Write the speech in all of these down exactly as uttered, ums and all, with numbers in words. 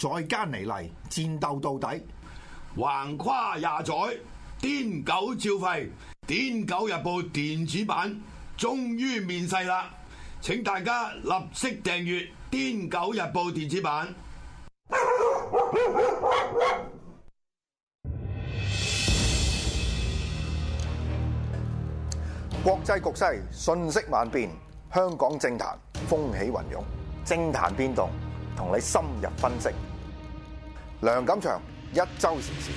再加尼嚟，戰鬥到底。 橫跨廿載，癲狗照吠，《癲狗日報》電子版終於面世啦！請大家立即訂閱《癲狗日報》電子版。 國際局勢瞬息萬變，香港政壇風起雲湧，政壇變動同你深入分析。梁錦祥一周時事。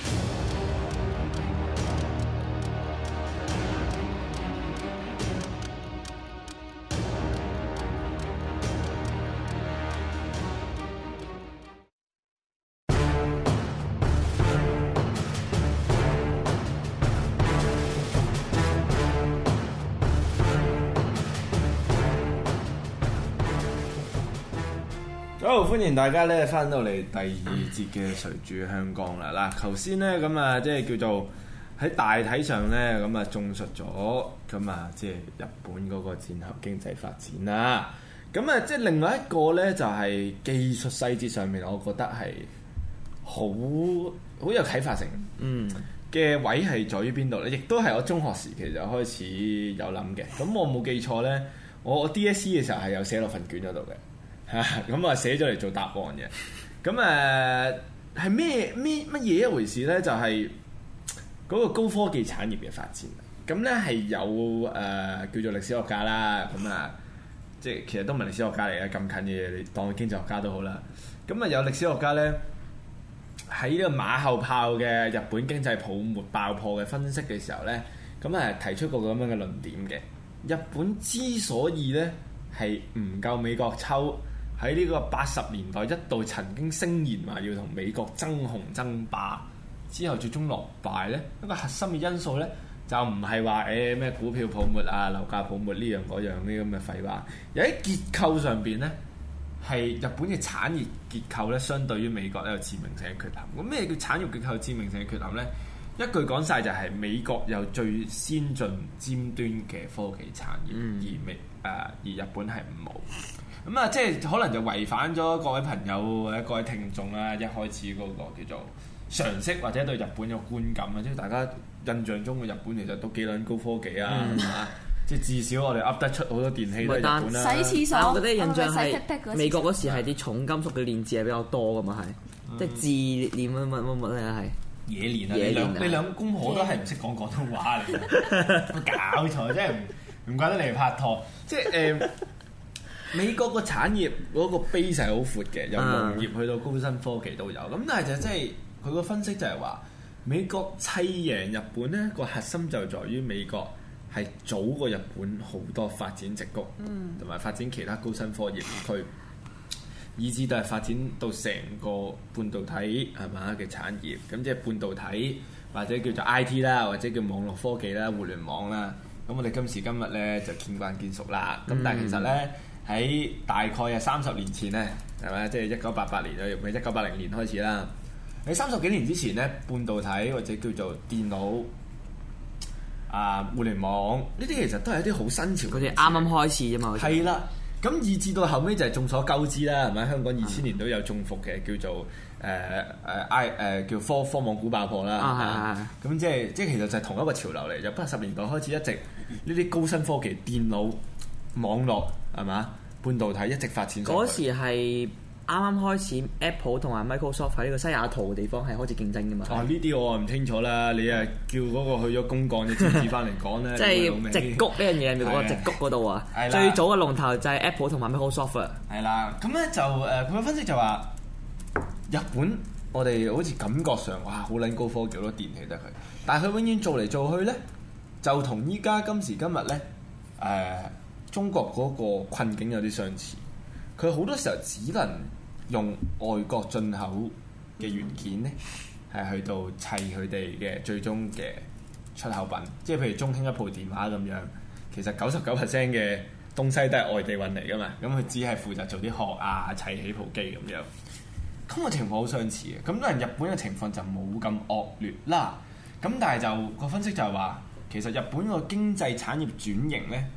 好，歡迎大家咧翻到嚟第二節嘅誰主香港啦！嗱，頭先咧咁啊，即係叫做喺大體上咧咁啊，綜述咗咁啊，即係日本嗰個戰後經濟發展啦。咁啊，即係另外一個咧，就係技術細節上面，我覺得係好好有啟發性。嗯嘅位係在於邊度咧？亦都係我中學時期就開始有諗嘅。咁我冇記錯咧，我我 D S E 嘅時候係有寫落份卷嗰度嘅。嚇咁啊，寫咗嚟做答案嘅。咁誒係咩咩乜嘢一回事咧？就係、是、嗰個高科技產業嘅發展。咁咧係有誒、呃、叫做歷史學家啦。咁啊，即係其實都唔係歷史學家嚟嘅，咁近嘅嘢，你當經濟學家都好啦。咁啊有歷史學家咧喺呢個馬後炮嘅日本經濟泡沫爆破嘅分析嘅時候咧，咁啊提出個咁樣嘅論點嘅。日本之所以咧係唔夠美國抽，喺呢個八十年代一度曾經聲言話要同美國爭雄爭霸，之後最終落敗呢，一個核心嘅因素呢，就唔係話誒咩股票泡沫啊、樓價泡沫呢樣嗰樣呢咁嘅廢話，而喺結構上邊呢，係日本嘅產業結構呢，相對於美國呢有致命性嘅缺陷。咁咩叫產業結構致命性嘅缺陷呢？一句講晒就係美國有最先進尖端嘅科技產業，嗯、而美誒、呃、而日本係冇。咁啊，即係可能就違反咗各位朋友或者各位聽眾啦，一開始嗰個叫做常識或者對日本有觀感啊，即係大家印象中嘅日本其實都幾撚高科技啊，係嘛、嗯？即係至少我哋噏得出好多電器都係日本啦。 洗廁所， 我覺得印象係美國嗰時係啲重金屬嘅煉製係比較多㗎嘛，係、嗯、即係冶煉乜乜乜乜咧係。冶煉啊！ 你兩你兩公婆都係唔識講廣東話嚟嘅，搞錯真係唔唔怪得你嚟拍拖，即係誒。呃美國個產業嗰個 base 係好闊嘅，由農業去到高新科技都有。咁但係就即係佢個分析就係話，美國砌贏日本呢個核心就在於美國係早過日本好多發展矽谷，同埋、嗯、發展其他高新科技區，以至到係發展到成個半導體係嘛嘅產業。咁即係半導體或者叫做 I T 啦，或者叫網絡科技啦、互聯網啦。咁我哋今時今日呢就見慣見熟啦。咁、嗯、但係其實呢。喺大概係三十年前咧，係咪？即係一九八八年啊，唔係一九八零年開始啦。喺三十幾年之前咧，半導體或者叫做電腦啊、互聯網呢啲其實都係一啲好新潮嘅。 佢哋啱啱開始啫嘛。 係啦，咁以至到後尾就係眾所周知啦，係咪？香港二千年都有中伏嘅，叫做誒誒 I 誒叫科科網股爆破啦。啊係係。咁即係即係其實就係同一個潮流嚟，就八十年代開始一直呢啲高新科技、電腦、網絡係嘛？半導體一直發展。 嗰時係啱啱開始 ，Apple 同埋 Microsoft 喺呢個西雅圖嘅地方係開始競爭㗎嘛。 哦，呢啲我唔清楚啦。你啊叫嗰個去咗公幹嘅知識翻嚟講咧， 即係矽谷呢樣嘢，咪嗰個矽谷嗰度啊。係啦。最早嘅龍頭就係 Apple 同埋 Microsoft 啊。 係啦，咁咧就誒，佢、呃、嘅分析就話日本我哋好似感覺上哇好撚高科技好多電器得佢，但係佢永遠做嚟做去咧，就同依家今時今日咧誒。呃中國嗰個困境有啲相似，佢好多時候只能用外國進口嘅元件咧，係去到砌佢哋嘅最終嘅出口品。即係譬如中興一部電話咁樣，其實九十九 percent 嘅東西都係外地運嚟噶嘛，咁佢只係負責做啲殼啊、砌起部機咁樣。咁個情況好相似嘅，咁但係日本嘅情況就冇咁惡劣啦。咁但係就個分析就係話，其實日本個經濟產業轉型咧，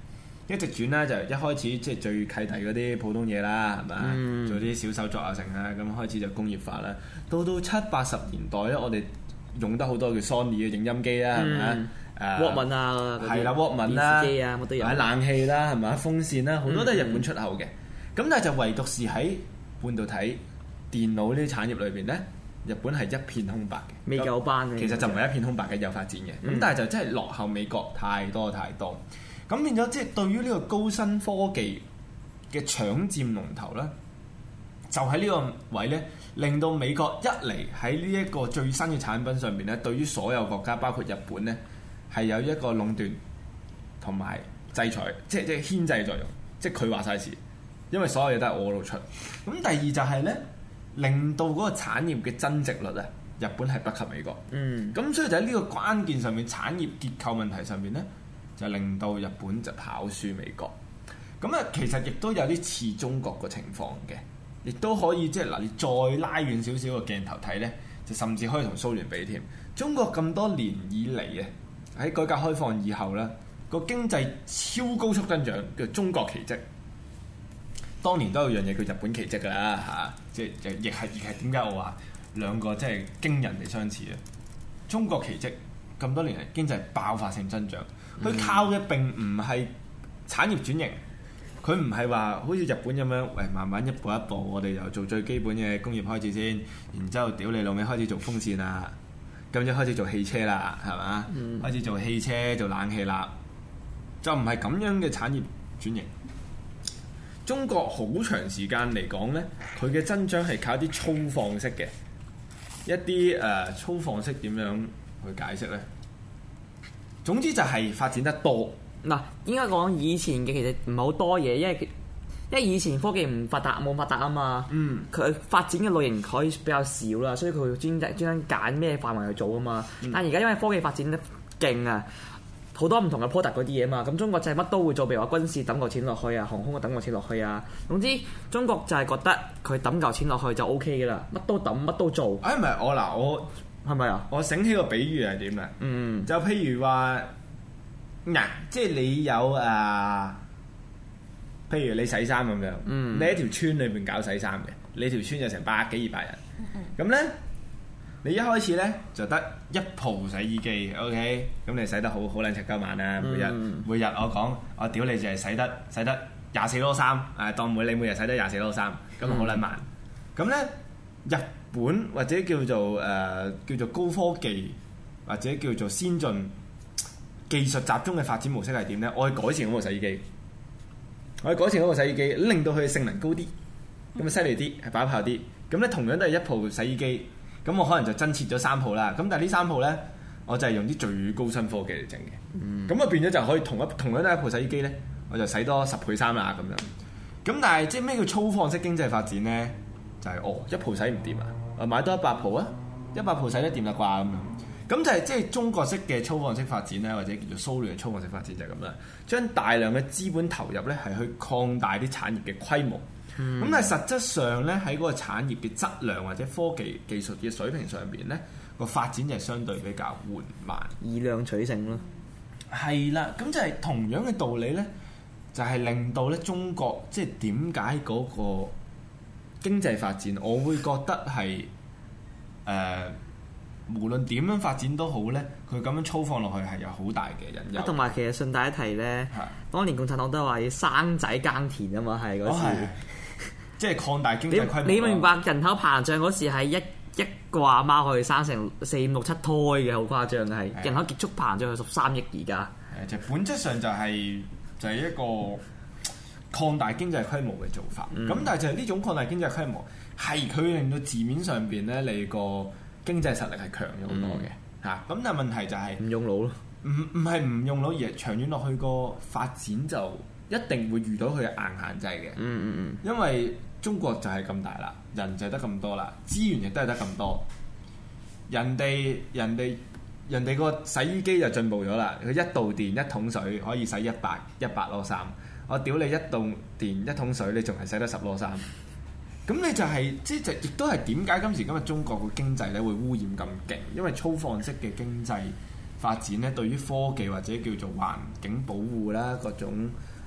一直轉咧就一開始即係最契弟嗰啲普通嘢啦，係咪啊？嗯、做啲小手作啊成啊，咁開始就工業化啦。到到七八十年代咧，我哋用得好多叫 Sony 嘅影音機啦，係咪啊？誒 Walkman 啊， 係啦 Walkman 啦，電視機啊，乜都有。買冷氣啦，係咪啊？風扇啦，好多都係日本出口嘅。咁、嗯、但係就唯獨是喺半導體、電腦呢啲產業裏邊咧，日本係一片空白嘅， 未夠班嘅。 其實就唔係一片空白嘅，有發展嘅。咁、嗯、但係就真係落後美國太多太多。咁變咗即係對於呢個高新科技嘅搶佔龍頭咧，就喺呢個位咧，令到美國一嚟喺呢一個最新嘅產品上邊咧，對於所有國家包括日本咧，係有一個壟斷同埋制裁，即係即係牽制作用，即係佢話晒事，因為所有嘢都係我度出。咁第二就係咧，令到嗰個產業嘅增值率啊，日本係不及美國。嗯。咁所以就喺呢個關鍵上面，產業結構問題上面咧，就令到日本就跑輸美國。咁啊，其實亦都有啲似中國個情況嘅，亦都可以即係嗱，你再拉遠少少個鏡頭睇咧，就甚至可以同蘇聯比添。中國咁多年以嚟啊，喺改革開放以後咧，個經濟超高速增長，叫中國奇蹟。當年都有樣嘢叫日本奇蹟㗎啦嚇，即係亦係亦係點解我話兩個即係驚人哋相似啊？中國奇蹟咁多年嚟經濟爆發性增長，佢靠嘅並唔係產業轉型，佢唔係話好似日本咁樣，喂慢慢一步一步，我哋又做最基本嘅工業開始先，然之後屌你老味開始做風扇啦，咁就開始做汽車啦，係嘛？嗯、開始做汽車做冷氣啦，就唔係咁樣嘅產業轉型。中國好長時間嚟講呢，佢嘅增長係靠啲粗放式嘅一啲誒、呃、粗放式點樣去解釋呢？總之就係發展得多。 嗱，應該講以前嘅其實唔係好多嘢，因為因為以前科技唔發達冇發達啊嘛。嗯。佢發展嘅類型可以比較少啦，所以佢會專專登揀咩範圍去做啊嘛。嗯、但係而家因為科技發展得勁啊，好多唔同嘅 product 嗰啲嘢嘛，咁中國就係乜都會做，譬如話軍事抌嚿錢落去啊，航空啊抌嚿錢落去啊。總之中國就係覺得佢抌嚿錢落去就 O K 嘅啦，乜都抌乜都做。 哎，唔係我嗱，我係咪啊？我醒起個比喻係點啊？嗯，就譬如話。嗱，即係你有誒、呃，譬如你洗衫咁樣，嗯、你喺條村裏邊搞洗衫嘅，你條村就成百幾二百人，咁咧、嗯，你一開始咧就得一鋪洗衣機 ，OK，咁你洗得好好撚柒鳩晚啦，每日、嗯、每日我講，我屌你就係洗得洗得廿四籮衫，誒當每你每日洗得廿四籮衫，咁好撚慢，咁咧、嗯、日本或者叫做誒、呃、叫做高科技或者叫做先進。技術集中嘅發展模式係點呢？我去改善嗰個洗衣機，我去改善嗰個洗衣機，令到佢嘅性能高啲，咁啊犀利啲，係把炮啲。咁咧同樣都係一鋪洗衣機，咁我可能就增設咗三鋪啦。咁但係呢三鋪呢，我就係用啲最高新科技嚟整嘅。咁啊、嗯、變咗就可以同一同樣都係一鋪洗衣機呢，我就洗多十倍衫啦咁樣。咁但係即係咩叫粗放式經濟發展呢？就係、是、哦一鋪洗唔掂啊，我買多一百鋪啊，一百鋪洗得掂啦啩咁樣。咁就係即係中國式嘅粗放式發展咧，或者叫做蘇聯嘅粗放式發展就係咁啦。將大量嘅資本投入咧，係去擴大啲產業嘅規模。咁、嗯、但係實質上咧，喺嗰個產業嘅質量或者科技技術嘅水平上邊咧，個發展就係相對比較緩慢， 以量取勝咯。 係啦，咁就係同樣嘅道理咧，就係、是、令到咧中國即係點解嗰個經濟發展，我會覺得係誒。呃無論點樣發展都好咧，佢咁樣粗放落去係有好大嘅隱憂。 同埋其實順帶一提咧，的當年共產黨都話要生仔耕田啊嘛，係嗰時，哦、即係擴大經濟規模。你明白人口膨脹嗰時係一一個阿媽可以生成四五六七胎嘅，好誇張嘅係。的人口極速膨脹去十三億而家。 誒，就本質上就係、是、就係、是、一個擴大經濟規模嘅做法。咁、嗯、但係就係呢種擴大經濟規模係佢令到字面上邊咧，你個經濟實力係強咗好多嘅嚇，咁、嗯、但係問題就係、是、 唔用腦咯， 唔唔係唔用腦，而係長遠落去個發展就一定會遇到佢嘅硬限制嘅。嗯嗯嗯，因為中國就係咁大啦，人就係得咁多啦，資源亦都係得咁多。人哋人哋人哋個洗衣機就進步咗啦，佢一度電一桶水可以洗一百一百籮衫，我屌你一度電一桶水，你仲係洗得十籮衫。咁你就係、是、即係就亦都係點解今時今日中國個經濟咧會污染咁勁？因為粗放式嘅經濟發展咧，對於科技或者叫做環境保護啦，各種誒、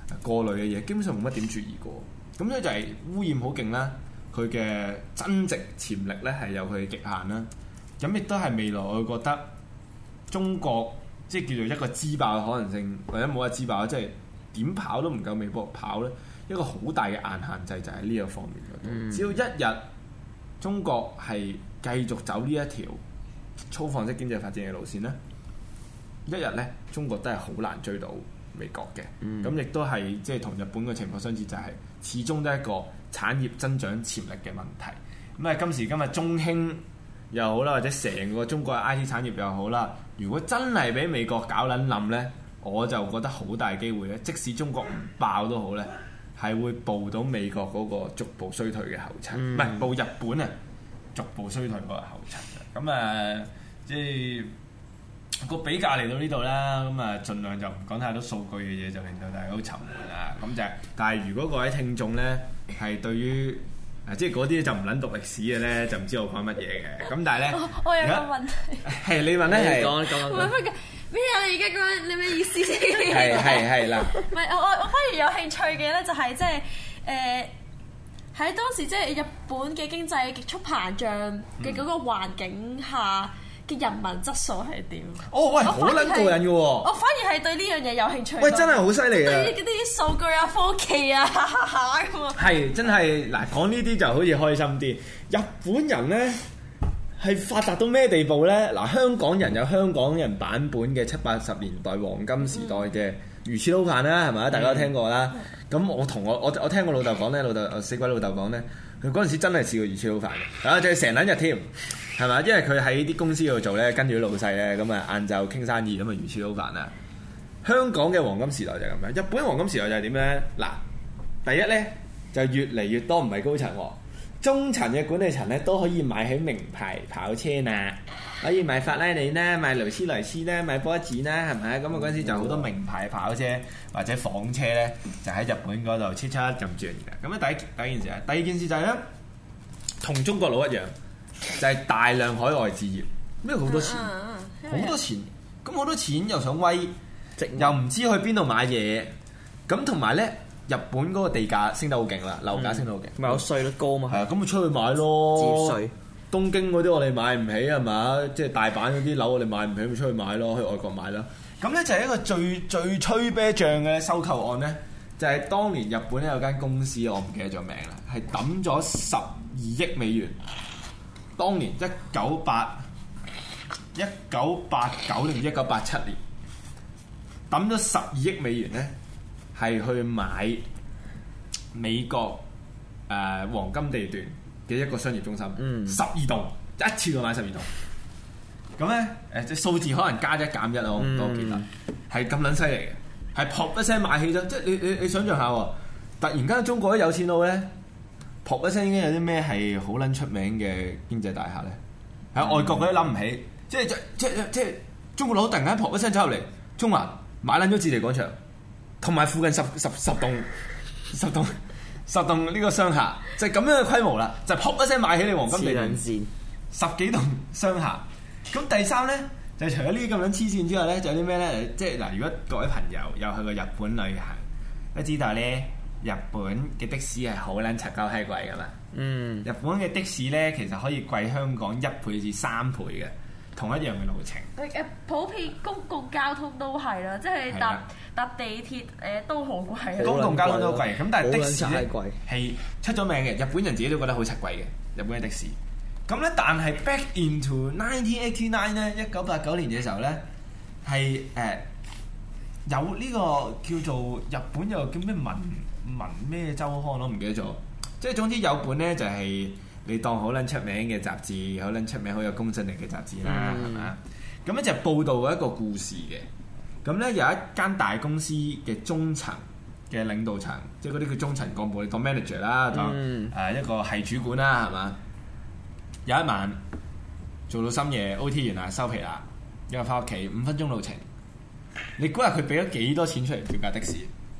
過濾嘅嘢，基本上冇乜點注意過。咁所以就係污染好勁啦，佢嘅增值潛力咧係有佢嘅極限啦。咁亦都係未來我覺得中國即係叫做一個支爆嘅可能性，或者冇話支爆，即係點跑都唔夠美國跑咧。一個好大嘅硬限制就喺呢個方面嗰度。嗯、只要一日中國係繼續走呢一條粗放式經濟發展嘅路線咧，一日咧中國都係好難追到美國嘅。咁亦、嗯、都係即係同日本嘅情況相似，就係、是、始終都係一個產業增長潛力嘅問題。咁啊，今時今日中興又好啦，或者成個中國嘅 I T 產業又好啦，如果真係俾美國搞撚冧咧，我就覺得好大機會咧，即使中國唔爆都好咧，係會步到美國嗰個逐步衰退嘅後塵，唔係、嗯、步日本啊逐步衰退嗰個後塵嘅。咁啊，即係個比較嚟到呢度啦。咁啊，盡量就唔講太多數據嘅嘢，就令到大家好沉悶啊。咁就係，但係如果各位聽眾咧係對於啊，即係嗰啲就唔撚讀歷史嘅咧，就唔知我講乜嘢嘅。咁但係咧， 我有個問題， 係你問咧，係講講唔係乜嘅咩啊？你而家講你咩意思先？ 係係係啦。 唔係我我我反而有興趣嘅咧，就係即係誒喺當時即係日本嘅經濟極速膨脹嘅嗰個環境下嘅人民質素係點？ 哦喂，好撚過癮嘅喎！ 我反而係對呢樣嘢有興趣。 喂，真係好犀利啊！ 對嗰啲數據啊、科技啊咁啊。係真係嗱，講呢啲就好似開心啲。日本人咧係發達到咩地步咧？嗱，香港人有香港人版本嘅七八十年代黃金時代嘅魚翅撈飯啦，係咪啊？大家都聽過啦。咁、嗯、我同我我我聽我老豆講咧，老豆死鬼老豆講咧，佢嗰陣時真係試過魚翅撈飯嘅，啊，仲係成撚日添。係嘛？因為佢喺啲公司度做咧，跟住啲老細咧，咁啊晏晝傾生意，咁啊魚翅撈飯啊！香港嘅黃金時代就係咁樣，日本黃金時代就係點咧？嗱，第一咧就越嚟越多唔係高層喎，中層嘅管理層咧都可以買起名牌跑車啦，可以買法拉利啦，買勞斯萊斯啦，買波子啦，係咪？咁啊嗰陣時就好多名牌跑車或者房車咧，就喺日本嗰度切出咁轉嘅。咁啊第一第一件事啊，第二件事就係咧，同中國佬一樣。就係大量海外置業，咩好多錢，好、uh, uh, uh, 多錢，咁好多錢又想威，又唔知去邊度買嘢，咁同埋咧，日本嗰個地價升得好勁啦，樓價升得好勁， 咪有稅率高嘛，係啊， 咁咪出去買咯， 節稅， 東京嗰啲我哋買唔起係嘛，即係大阪嗰啲樓我哋買唔起，咪出去買咯，去外國買啦。咁咧就係一個最最吹啤醬嘅收購案咧，就係、是、當年日本咧有間公司我唔記得咗名啦，係抌咗十二億美元。當年一九八一九八九定一九八七年，抌咗十二億美元咧，係去買美國誒、呃、黃金地段嘅一個商業中心，十二、嗯、棟一次過買十二棟。咁咧誒，即係數字可能加一減一咯，我唔多記得，係咁撚犀利嘅，係噗一聲買起咗。即係你你你想象下喎，突然間中國啲有錢佬咧。噗一聲，應該有啲咩係好撚出名嘅經濟大廈咧？喺、嗯、外國嗰啲諗唔起，即係即即即係中國佬突然間噗一聲走入嚟，中環買撚咗置地廣場，同埋附近十十十棟十棟十棟呢個商廈，就係、是、咁樣嘅規模啦，就噗、是、一聲買起你黃金地段，十幾棟商廈。咁第三咧，就除咗呢啲咁樣黐線之外咧，就有啲咩咧？即係嗱，如果各位朋友有去過日本旅行，都知道咧。日本嘅的，的士係好撚柒鳩閪貴噶嘛？嗯，日本嘅的，的士咧其實可以貴香港一倍至三倍嘅，同一樣嘅路程。 誒普遍公共交通都係啦，即係搭搭地鐵誒、呃、都好貴。 公共交通都貴，咁但係的士咧係出咗名嘅，日本人自己都覺得好柒貴嘅。日本嘅的，的士，咁咧但係 back into nineteen eighty nine 咧，一九八九年嘅時候咧係誒有呢個叫做日本有個叫咩文。文咩週刊我唔記得咗，即係總之有本咧就係、是、你當好撚出名嘅雜誌，好撚出名好有公信力嘅雜誌啦，係咪啊？咁咧就報導一個故事嘅，咁咧有一間大公司嘅中層嘅領導層，即係嗰啲叫中層幹部，你當 manager 啦，當誒一個係主管啦，係嘛？有一晚做到深夜 O T 完啦，收皮啦，因為翻屋企五分鐘路程，你估下佢俾咗幾多錢出嚟叫架的士？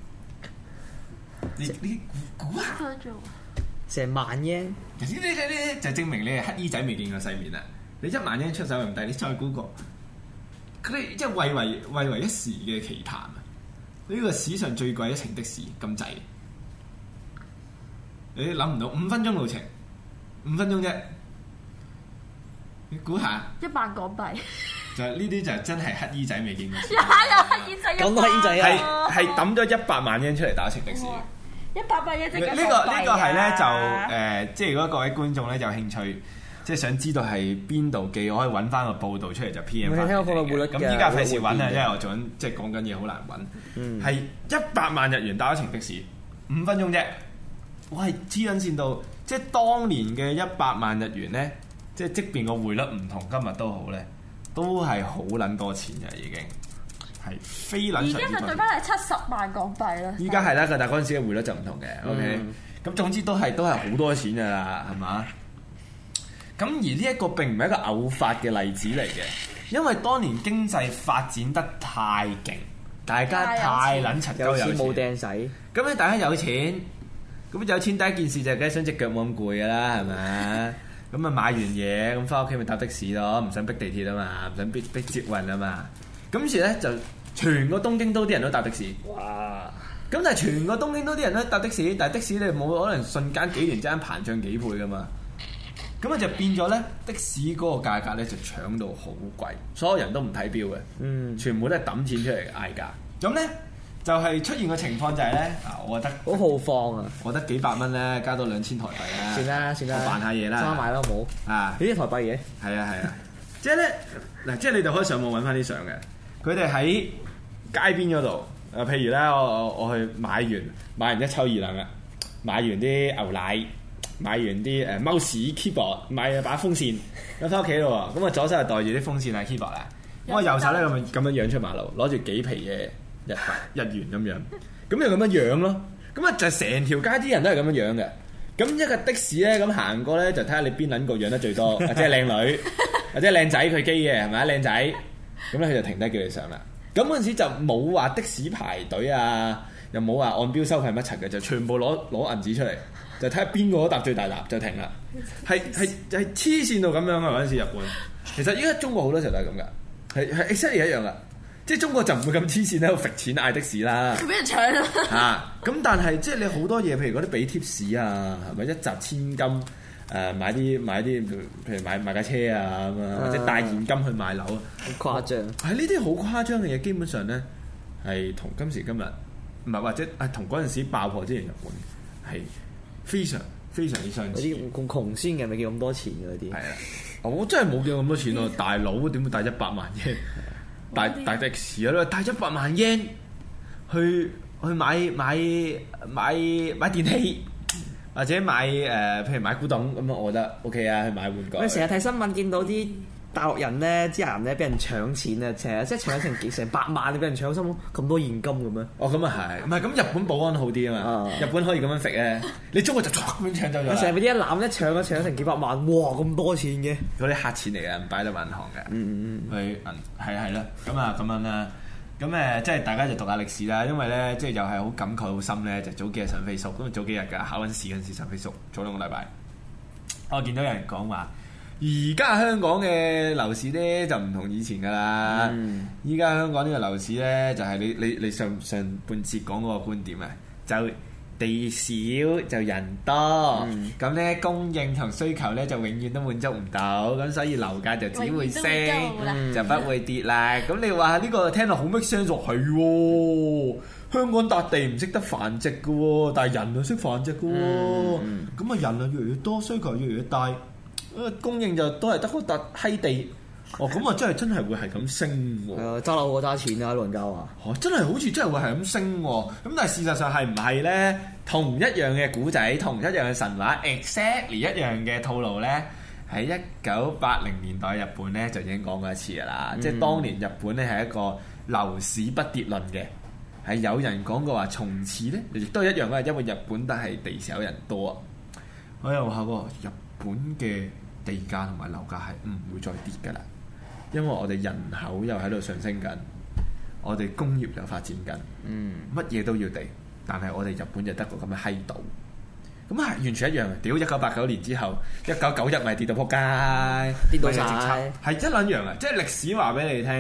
你你估估下， 成萬英， 呢呢呢就證明你係乞衣仔未見過世面啦！你一萬英出手唔抵，你再估個，佢哋即係為為為為一時嘅奇談啊！ 呢個史上最貴一程的士咁滯，你諗唔到五分鐘路程，五分鐘啫，你估下？ 一萬港幣。 就係呢啲就真係乞衣仔未見過。 有有乞衣仔， 講到乞衣仔係啊！ 係抌咗一百萬日圓出嚟打程的士。 一百萬日圓呢、呢個呢、呢個係咧就誒、呃，即係如果各位觀眾咧有興趣，即係想知道係邊度記，我可以揾翻個報道出嚟就 P M 翻。 我聽過個匯率嘅咁依家費事揾啊， 匯率因為我做緊即係講緊嘢好難揾。係嗯一百萬日元打一程的士，五分鐘啫。我係黐撚線到，即係當年嘅一百萬日元咧，即係即便個匯率唔同今日都好咧，都係好撚多錢嘅已經，係非撚而上之多。 家就對翻係七十萬港幣啦。 依家係啦，但係嗰陣時嘅匯率就唔同嘅，OK。咁總之都係都係好多錢㗎啦，係嘛？咁而呢一個並唔係一個偶發嘅例子嚟嘅，因為當年經濟發展得太勁，大家太撚柒鳩有錢冇有錢。 掟使， 咁咧大家有錢，咁有錢第一件事就係梗係想隻腳冇咁攰㗎啦，係咪？咁啊買完嘢咁翻屋企咪搭的士咯，唔想逼地鐵啊嘛，唔想逼逼捷運啊嘛。咁於是咧就全個東京都啲人都搭的士。 哇！ 咁但係全個東京都啲人都搭的士，但係的士你冇可能瞬間幾年之間膨脹幾倍噶嘛。咁啊就變咗咧的士嗰個價格咧就搶到好貴，所有人都唔睇錶嘅， 嗯， 全部都係揼錢出嚟嗌價。咁咧就係、是、出現個情況就係咧，嗱，我覺得好豪放啊！ 我覺得幾百蚊咧加到兩千台幣啦， 算啦算啦， 我扮下嘢啦， 揸埋啦冇啊！ 呢啲台幣嘢， 係啊係啊，即係咧嗱，即係你哋可以上網揾翻啲相嘅，佢哋喺街邊嗰度，誒、呃、譬如咧，我我我去買完買完一抽二兩啊，買完啲牛奶，買完啲誒 mouse keyboard，買把風扇，咁翻屋企咯喎，咁啊左手就袋住啲風扇啊 keyboard 啊，咁啊右手咧咁樣咁樣樣出馬路，攞住幾皮嘅日日元咁樣，咁就咁樣樣咯，咁啊就成條街啲人都係咁樣樣嘅。咁一個的士咧，咁行過咧就睇下你邊撚個養得最多，或者係靚女，或者係靚仔佢機嘅係咪啊？靚仔，咁咧佢就停低叫你上啦。咁嗰陣時就冇話的士排隊啊，又冇話按標收費乜柒嘅，就全部攞攞銀紙出嚟，就睇下邊個搭最大沓就停啦。係係係黐線到咁樣啊！嗰陣時日本，其實依家中國好多時候都係咁噶，係係 exactly 一樣噶。即係中國就唔會咁黐線喺度揈錢嗌的士啦， 佢俾人搶啦嚇！咁但係即係你好多嘢，譬如嗰啲俾貼士啊，係咪一擲千金誒、呃、買啲買啲，譬如買買架車啊咁啊，或者帶現金去買樓啊， 好誇張。 係呢啲好誇張嘅嘢，基本上咧係同今時今日唔係或者係同嗰陣時爆破之前日本係非常非常之相似。 嗰啲咁窮先嘅咪叫咁多錢嘅嗰啲。 係啊，我真係冇見咁多錢喎，大佬點會帶一百萬嘅？大大的士啊，帶一百萬 yen 去去買買買買電器，或者買誒、呃，譬如買古董咁啊，我覺得 OK 啊，去買玩具。 我成日睇新聞見到啲大陸人咧，啲人咧俾人搶錢啊，成日即係搶成幾成百萬，你俾人搶心諗咁多現金嘅咩？ 哦，咁啊係，唔係咁日本保安好啲啊嘛， 啊日本可以咁樣揈咧，你中國就咁樣搶走咗啦。 成日俾啲一攬一搶，一搶成幾百萬，哇咁多錢嘅！ 嗰啲黑錢嚟嘅，唔擺得銀行嘅。 嗯嗯去銀係係啦，咁啊咁樣啦，咁誒即係大家就讀下歷史啦，因為咧即係又係好感慨好深咧，就早幾日上 Facebook，咁啊早幾日㗎考緊試嗰陣時上 Facebook，早兩個禮拜，我見到有人講話，而家香港嘅樓市咧就唔同以前㗎啦，依家、嗯、香港呢個樓市咧就係、是、你你你上上半節講嗰個觀點啊，就地少就人多，咁咧、嗯、供應同需求咧就永遠都滿足唔到，咁所以樓價就只會升，會就不會跌啦。咁、嗯、你話呢個聽落好 make sense 係喎，香港笪地唔識得繁殖嘅喎，但係人就識繁殖嘅喎，咁啊、嗯嗯、人啊越嚟越多，需求越嚟越大，供應就都係得嗰笪閪地。哦，咁啊，真係真係會係咁升喎！ 誒，揸樓好揸錢啊，老人家話。 哦，真係好似真係會係咁升喎！咁但係事實上係唔係咧？同一樣嘅古仔，同一樣嘅神話 ，exactly 一樣嘅套路咧，喺一九八零年代日本咧就已經講過一次㗎啦。嗯、即係當年日本咧係一個樓市不跌論嘅，係有人講過話從此咧亦都係一樣嘅，因為日本都係地少人多啊。我又話喎，日本嘅地價同埋樓價係唔會再跌㗎啦。因為我哋人口又喺度上升緊，我哋工業又發展緊，乜嘢、嗯、都要地，但係我哋日本就得個咁嘅閪島，咁係完全一樣嘅。屌一九八九年之後，一九九一咪跌到撲街，跌到晒，係一撚樣啊！即係歷史話俾你聽，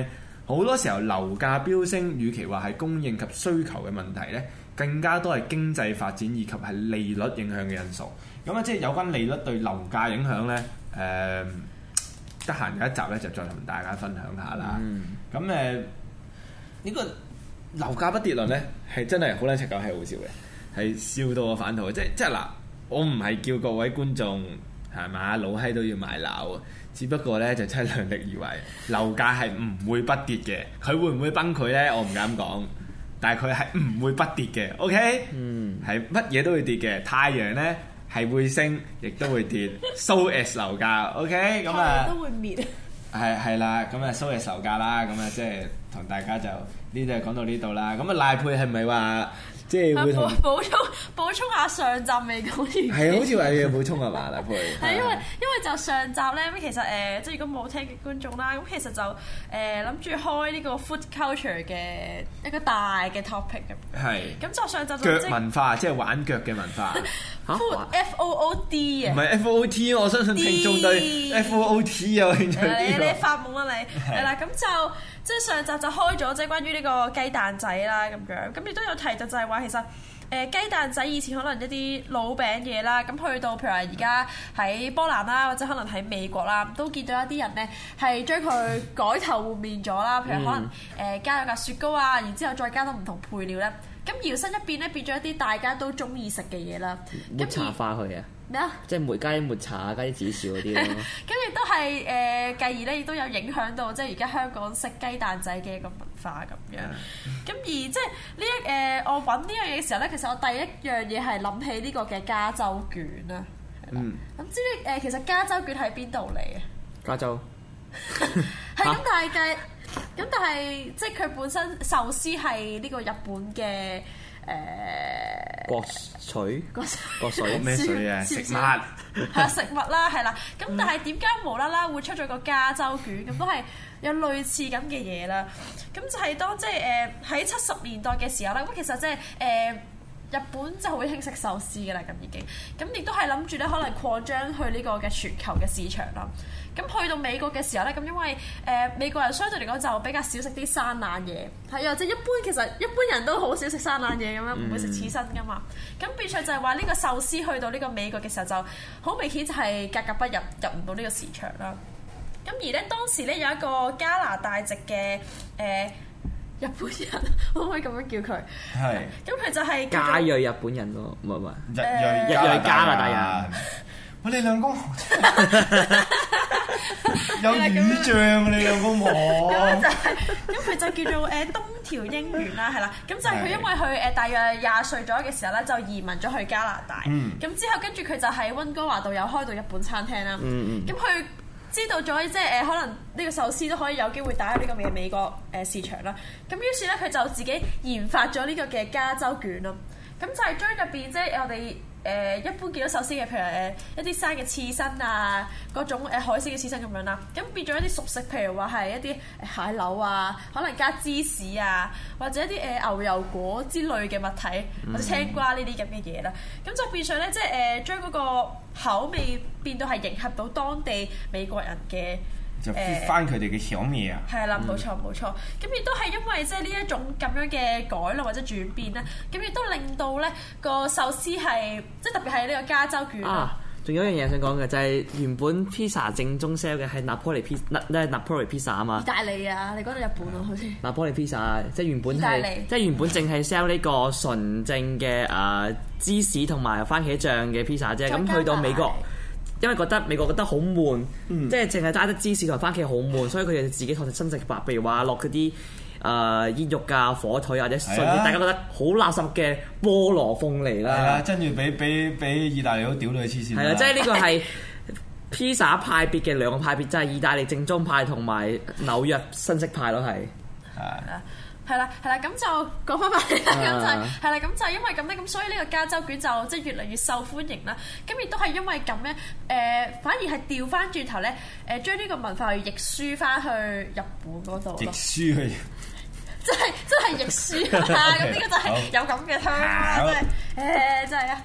好多時候樓價飆升，與其話係供應及需求嘅問題咧，更加多係經濟發展以及係利率影響嘅因素。咁啊，即係有關利率對樓價影響咧，誒得閒有一集咧就再同大家分享下啦。咁誒、嗯。呢個樓價不跌論咧，係真係好撚赤狗，係好笑嘅，係笑到我反肚。即即係嗱，我唔係叫各位觀眾係嘛老閪都要買樓，只不過咧就真係量力而為。樓價係唔會不跌嘅，佢會唔會崩潰咧？我唔敢講，但係佢係唔會不跌嘅。OK，嗯，係乜嘢都會跌嘅。太陽咧係會升，亦都會跌。So as 樓價 OK 咁啊， 都會滅。 係係啦，咁啊收嘅售價啦，咁啊即係同大家就呢度講到呢度啦。咁啊賴珮係咪話即係會同補充補充下上集未講完？ 係好似話要補充係嘛賴珮？ 係因為因為就上集咧咁其實誒、呃、即係如果冇聽嘅觀眾啦，咁其實就誒諗住開呢個 food culture 嘅一個大嘅 topic 咁。係。咁就上集就腳文化，即係玩腳嘅文化。 Food F O O D 啊， 唔係 F O O T， 我相信聽眾對 F O O T 有興趣啲。 你你發夢啦你，係啦，咁就即係上集就開咗即係關於呢個雞蛋仔啦咁樣，咁亦都有提到就係話其實誒雞蛋仔以前可能一啲老餅嘢啦，咁去到譬如話而家喺波蘭啦，或者可能喺美國啦，都見到一啲人咧係將佢改頭換面咗啦，譬如可能誒加咗架雪糕啊，然之後再加多唔同配料咧。咁搖身一變咧，變咗一啲大家都中意食嘅嘢啦。 抹茶化佢啊！ 咩啊？ 即係抹加啲抹茶，加啲紫薯嗰啲咯。 咁亦都係誒，繼而咧亦都有影響到即係而家香港食雞蛋仔嘅一個文化咁樣。咁、嗯、而即係呢一誒，我揾呢樣嘢嘅時候咧，其實我第一樣嘢係諗起呢個嘅加州卷啦。嗯。咁知你誒，其實加州卷喺邊度嚟啊？ 加州。 係咁，但係嘅。咁但係即係佢本身壽司係呢個日本嘅誒國水國水咩水啊？食物係啊食物啦係啦。咁但係點解無啦啦會出咗個加州卷？咁都係有類似咁嘅嘢啦。咁就係當即係誒喺七十年代嘅時候咧，咁其實即係誒日本就好興食壽司嘅啦。咁已經咁亦都係諗住咧，可能擴張去呢個嘅全球嘅市場啦。咁去到美國嘅時候咧，咁因為誒、呃、美國人相對嚟講就比較少食啲生冷嘢，係啊，即係一般其實一般人都好少食生冷嘢咁樣，唔會食刺身噶嘛。咁變相就係話呢個壽司去到呢個美國嘅時候，就好明顯就係格格不入，入唔到呢個市場啦。咁而咧當時咧有一個加拿大籍嘅誒、呃、日本人，可唔可以咁樣叫佢？係。咁佢就係加裔日本人咯，唔係唔係日裔日裔加拿大人。 我哋兩公有語像，你兩公婆。 咁就係，咁佢就叫做誒東條英元啦，係啦。咁就係佢因為佢誒大約廿歲左右嘅時候咧，就移民咗去加拿大。咁、嗯、之後跟住佢就喺溫哥華度有開到日本餐廳啦。咁佢、嗯嗯、知道咗即係誒可能呢個壽司都可以有機會打入呢個嘅美國誒市場啦。咁於是咧佢就自己研發咗呢個嘅加州卷咯。咁就係將入邊即係我哋。誒、呃、一般見到壽司嘅，譬如誒、呃、一啲生嘅刺身啊，嗰種誒、呃、海鮮嘅刺身咁樣啦，咁變咗一啲熟食，譬如話係一啲蟹柳啊，可能加芝士啊，或者一啲誒、呃、牛油果之類嘅物體，或者青瓜呢啲咁嘅嘢啦，咁、嗯、就變相咧，即係誒、呃、將嗰個口味變到係迎合到當地美國人嘅。 就翻佢哋嘅小味啊！ 係啦，冇錯冇錯。咁亦都係因為即係呢一種咁樣嘅改良或者轉變咧，咁亦都令到咧個壽司係即係特別係呢個加州卷啊！ 仲有一樣嘢想講嘅就係原本 pizza 正宗 sell 嘅係拿坡里 pizza， 咧拿坡里 pizza 啊嘛。 意大利啊，你講到日本咯，好似。 拿坡里 pizza 即係原本係即係原本淨係 sell 呢個純正嘅誒芝士同埋番茄醬嘅 pizza 啫，咁去到美國。因為覺得美國覺得好悶，嗯、即係淨係齋得芝士同番茄好悶，所以佢哋自己創新食法，譬如話落嗰啲誒煙肉啊、火腿或者甚至大家覺得好垃圾嘅菠蘿鳳梨啦， 係啊，跟住俾俾俾意大利佬屌到佢黐線。 係啊，即係呢個係披薩派別嘅兩個派別，即係意大利正宗派同埋紐約新式派咯，係。係。 係啦，係啦，咁就講翻翻嚟啦，咁就係係啦，咁就係因為咁咧，咁所以呢個加州卷就即係越嚟越受歡迎啦。咁亦都係因為咁咧，誒、呃、反而係調翻轉頭咧，誒將呢個文化去譯輸翻去日本嗰度咯。譯輸去，即係真係譯輸啊！咁呢個就係有咁嘅香啦，即係誒，真係啊！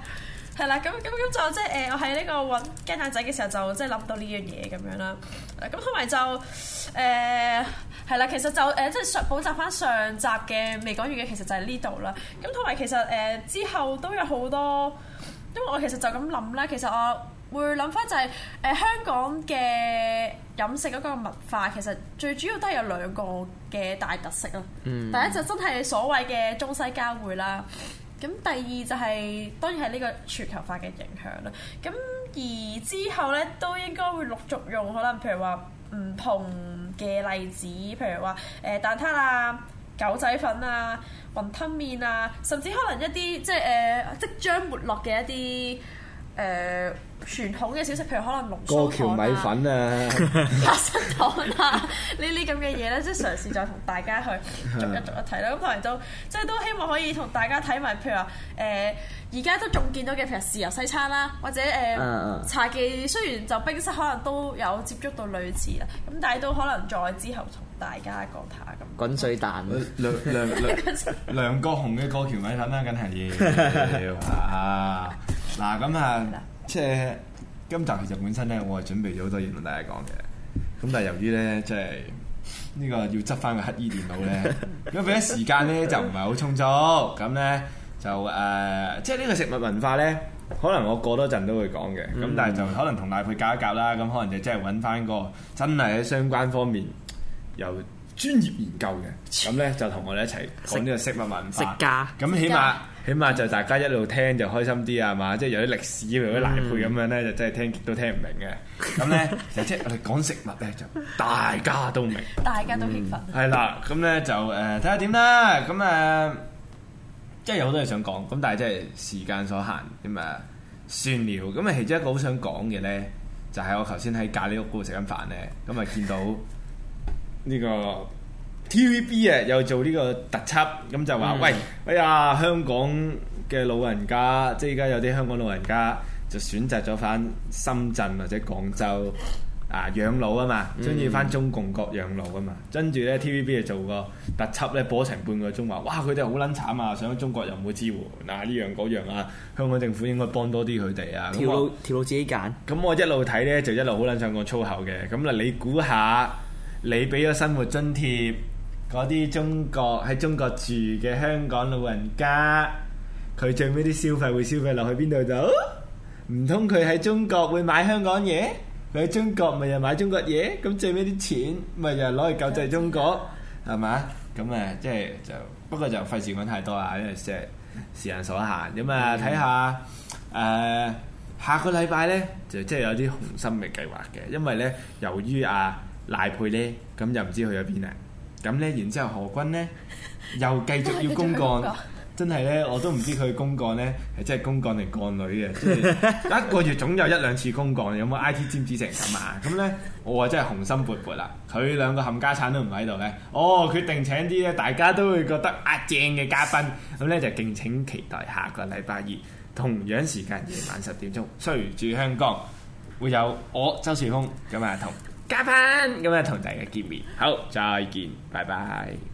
係啦，咁咁咁就即係誒，我喺呢個揾雞蛋仔嘅時候就即係諗到呢樣嘢咁樣啦。咁同埋就誒係啦，其實就誒、呃、即係上補習翻上集嘅未講完嘅，其實就係呢度啦。咁同埋其實誒、呃、之後都有好多，因為我其實就咁諗啦。其實我會諗翻就係、是、誒、呃、香港嘅飲食嗰個文化，其實最主要都係有兩個嘅大特色啦。嗯、第一就真係所謂嘅中西交匯啦。咁第二就係、是、當然係呢個全球化嘅影響啦。咁而之後咧都應該會陸續用可能譬如話唔同嘅例子，譬如話誒、呃、蛋撻啊、狗仔粉啊、雲吞麵啊，甚至可能一啲即係誒、呃、即將沒落嘅一啲誒、呃、傳統嘅小食，譬如可能龍鬚糖啊、 過橋米粉啊、 花生糖啊呢啲咁嘅嘢咧，即係嘗試再同大家去逐一逐一睇啦。咁同埋都即係都希望可以同大家睇埋，譬如話誒而家都仲見到嘅，譬如豉油西餐啦，或者誒、呃 uh, uh. 茶記，雖然就冰室可能都有接觸到類似啦，咁但係都可能再之後同大家講下咁。 滾水蛋， 梁梁梁梁國雄嘅過橋米粉啦，梗係要啊！嗱咁啊，即係今集其實本身咧，我係準備咗好多嘢同大家講嘅。咁但係由於咧，即係呢個要執翻個乞衣電腦咧，咁俾啲時間咧就唔係好充足。咁咧就誒、呃，即係呢個食物文化咧，可能我過多陣都會講嘅。咁、嗯、但係就可能同賴珮夾一夾啦。咁可能就即係揾翻個真係喺相關方面由專業研究嘅，咁咧就同我哋一齊講呢個食物文化。 食家， 咁起碼起碼就大家一路聽就開心啲啊嘛！即係有啲歷史，譬如啲賴珮咁樣咧，就真係聽極都聽唔明嘅。咁咧就即係我哋講食物咧，就大家都明， 大家都興奮。 係啦、嗯，咁咧就誒睇下點啦。咁誒、呃、即係有好多嘢想講，咁但係即係時間所限，咁啊算了。咁啊其中一個好想講嘅咧，就係、是、我頭先喺咖喱屋嗰度食緊飯咧，咁啊見到。呢個 T V B 啊，又做呢個特輯，咁就話：嗯、喂，哎呀，香港嘅老人家，即係而家有啲香港老人家就選擇咗翻深圳或者廣州啊養老啊嘛，中意翻中共國養老啊嘛。跟住咧 T V B 就做個特輯咧，播成半個鐘話：哇，佢哋好撚慘啊！上咗中國又冇支援啊，呢樣嗰樣啊，香港政府應該幫多啲佢哋啊。 條路條路自己揀。咁我一路睇咧，就一路好撚想講粗口嘅。咁啊，你估下？你俾咗生活津貼嗰啲中國喺中國住嘅香港老人家，佢最尾啲消費會消費落去邊度就？唔通佢喺中國會買香港嘢？佢喺中國咪又買中國嘢？咁最尾啲錢咪又攞去救濟中國，係嘛？咁誒，即係就不過就費事講太多啦，因為即係時間所限。咁啊，睇下誒下個禮拜咧，就即係有啲雄心嘅計劃嘅，因為咧由於啊。賴珮咧，咁又唔知去咗邊啦。咁咧，然之後何君咧又繼續要公幹，真係咧我都唔知佢公幹咧係真係公幹定幹女嘅，即係一個月總有一兩次公幹，有冇 I T 尖子成咁啊？咁咧我啊真係雄心勃勃啦。佢兩個冚家產都唔喺度咧，哦決定請啲咧大家都會覺得啊正嘅嘉賓，咁咧就敬請期待下個禮拜二同樣時間夜晚十點鐘，隨住香港會有我周樹峰咁啊同。嘉賓咁啊，同大家見面，好，再見，拜拜。